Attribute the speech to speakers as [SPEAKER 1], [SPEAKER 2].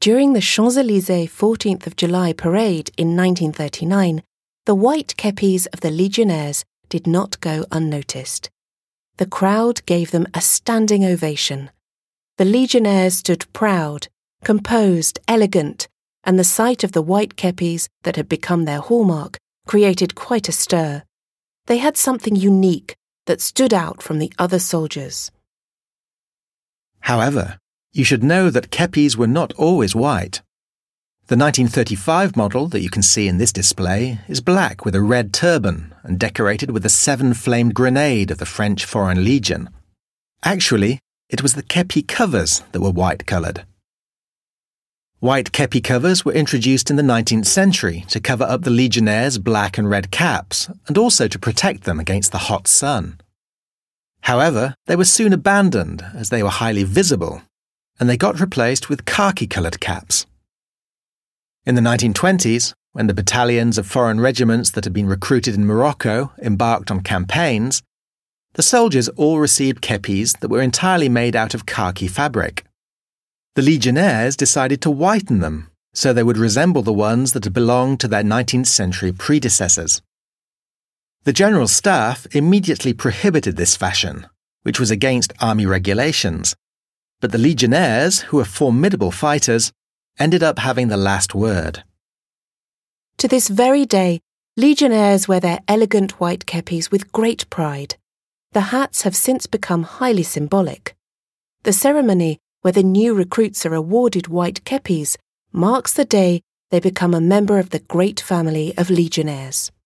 [SPEAKER 1] during the Champs-Élysées 14th of July parade in 1939, the white kepis of the Legionnaires did not go unnoticed. The crowd gave them a standing ovation. The Legionnaires stood proud, composed, elegant, and the sight of the white kepis that had become their hallmark created quite a stir. They had something unique that stood out from the other soldiers.
[SPEAKER 2] However, you should know that kepis were not always white. The 1935 model that you can see in this display is black with a red turban and decorated with a 7-flamed grenade of the French Foreign Legion. Actually, it was the kepi covers that were white-coloured. White kepi covers were introduced in the 19th century to cover up the Legionnaires' black and red caps and also to protect them against the hot sun. However, they were soon abandoned as they were highly visible, and they got replaced with khaki-coloured caps. In the 1920s, when the battalions of foreign regiments that had been recruited in Morocco embarked on campaigns, the soldiers all received kepis that were entirely made out of khaki fabric. The Legionnaires decided to whiten them so they would resemble the ones that had belonged to their 19th century predecessors. The General Staff immediately prohibited this fashion, which was against army regulations, but the Legionnaires, who were formidable fighters, ended up having the last word.
[SPEAKER 1] To this very day, Legionnaires wear their elegant white kepis with great pride. The hats have since become highly symbolic. The ceremony where the new recruits are awarded white kepis marks the day they become a member of the great family of Legionnaires.